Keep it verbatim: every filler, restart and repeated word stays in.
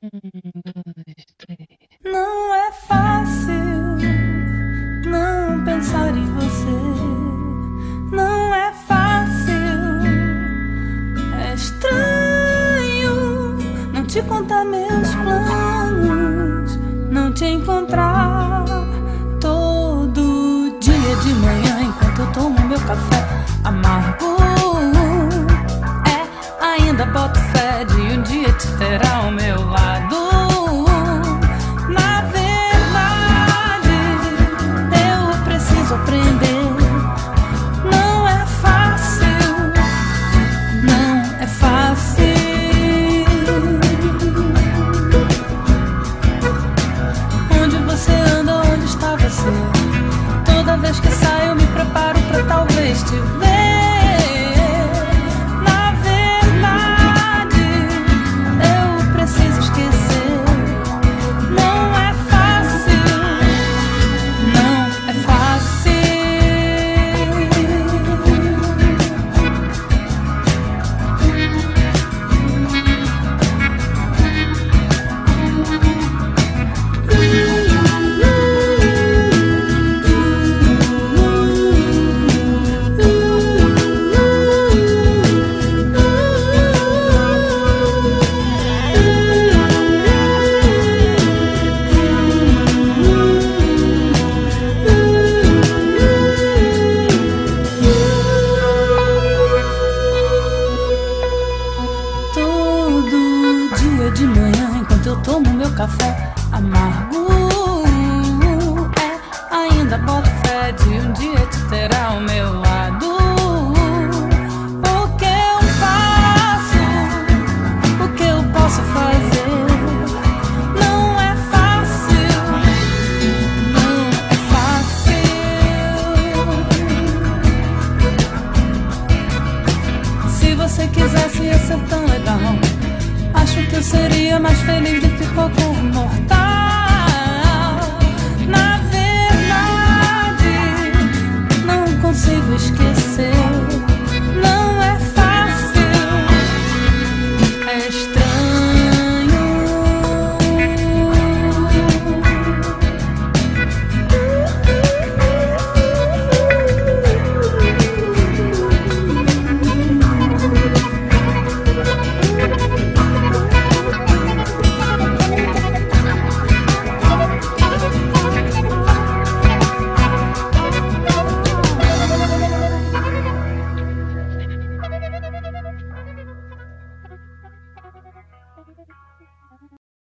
dois, três. Não é fácil não pensar em você. Não é fácil. É estranho não te contar meus planos, não te encontrar todo dia de manhã enquanto eu tomo meu café amargo. É, ainda boto fé de um dia te ter ao meu lado. Na verdade, eu preciso aprender. Não é fácil, não é fácil. Onde você anda, onde está você? Toda vez que saio eu me preparo pra talvez te ver. Na verdade, eu preciso esquecer. Não é fácil, não é fácil. Todo dia de manhã, enquanto eu tomo meu café amargo, é, ainda boto fé de um dia te ter ao meu lado. O que eu faço, o que eu posso fazer? Não é fácil, não é fácil. Se você quisesse ia ser tão legal. Acho que eu seria mais feliz do que qualquer mortal.